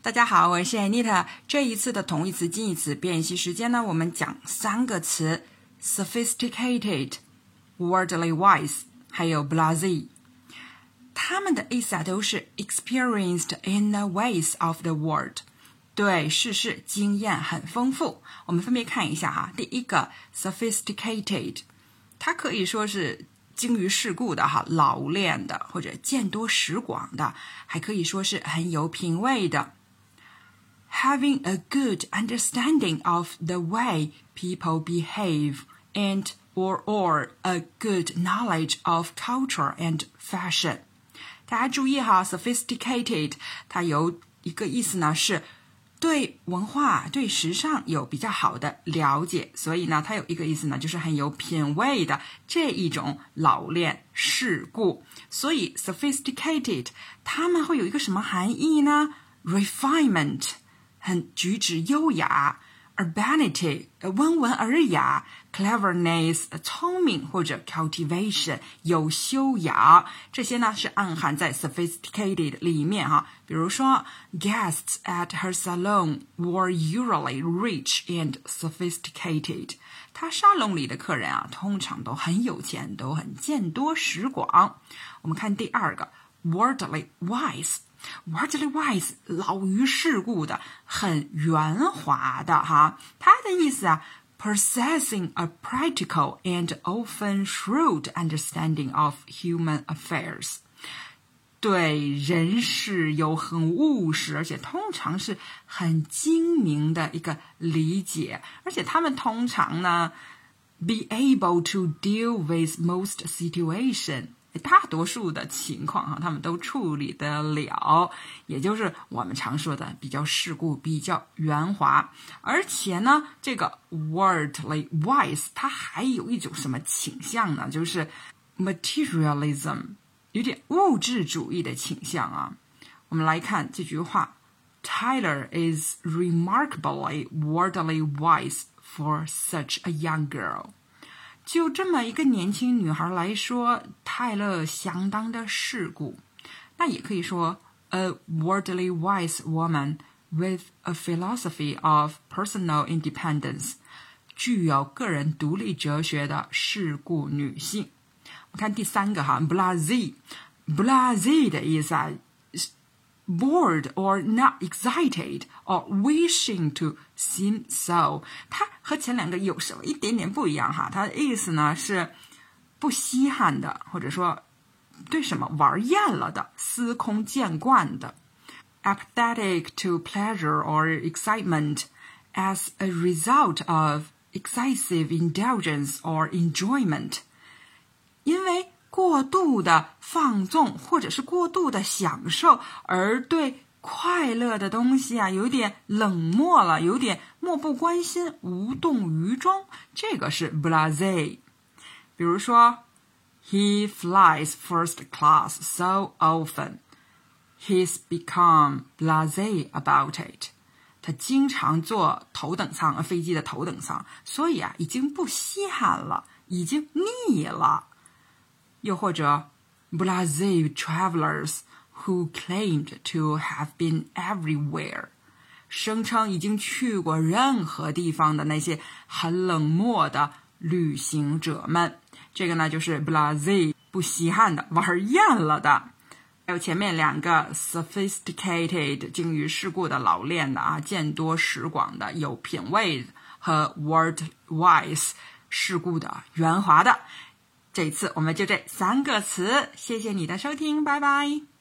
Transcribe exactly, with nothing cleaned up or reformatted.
大家好，我是 Anita。这一次的同义词、近义词辨析时间呢，我们讲三个词 ：sophisticated、worldly wise， 还有 blasé。它们的意思啊，都是 experienced in the ways of the world， 对世事经验很丰富。我们分别看一下哈。第一个 sophisticated， 它可以说是精于世故的哈，老练的，或者见多识广的，还可以说是很有品味的。Having a good understanding of the way people behave and or or a good knowledge of culture and fashion。 大家注意哈 sophisticated 它有一个意思呢，是对文化对时尚有比较好的了解，所以呢它有一个意思呢，就是很有品味的这一种老练世故。所以 sophisticated 它们会有一个什么含义呢？ Refinement， 很举止优雅， urbanity， 温文尔雅， cleverness， 聪明，或者 cultivation， 有修养，这些呢是暗含在 sophisticated 里面哈。比如说 guests at her salon were usually rich and sophisticated， 她沙龙里的客人啊，通常都很有钱，都很见多识广。我们看第二个 worldly wise。Worldly wise 老于世故的，很圆滑的哈。它的意思啊 possessing a practical and often shrewd understanding of human affairs， 对人事有很务实，而且通常是很精明的一个理解，而且他们通常呢 be able to deal with most situation，大多数的情况哈，他们都处理得了，也就是我们常说的比较世故，比较圆滑。而且呢，这个 worldly wise 它还有一种什么倾向呢？就是 materialism， 有点物质主义的倾向啊。我们来看这句话 Tyler is remarkably worldly wise for such a young girl。就这么一个年轻女孩来说，泰勒相当的世故。那也可以说 a worldly wise woman with a philosophy of personal independence， 具有个人独立哲学的世故女性。我看第三个哈 blasé blasé 的意思啊bored or not excited or wishing to seem so， 它和前两个有什么一点点不一样哈？它的意思呢是不稀罕的，或者说对什么玩厌了的，司空见惯的。Apathetic to pleasure or excitement as a result of excessive indulgence or enjoyment， 因为过度的放纵或者是过度的享受，而对快乐的东西啊有点冷漠了，有点漠不关心，无动于衷，这个是 blasé。 比如说 He flies first class so often he's become blasé about it， 他经常坐头等舱，飞机的头等舱，所以啊已经不稀罕了，已经腻了。又或者 blasé travelers who claimed to have been everywhere， 声称已经去过任何地方的那些很冷漠的旅行者们，这个呢就是 blasé 不稀罕的，玩厌了的。还有前面两个 sophisticated 精于世故的，老练的啊，见多识广的，有品味，和 worldly wise 世故的，圆滑的。这一次我们就这三个词，谢谢你的收听，拜拜。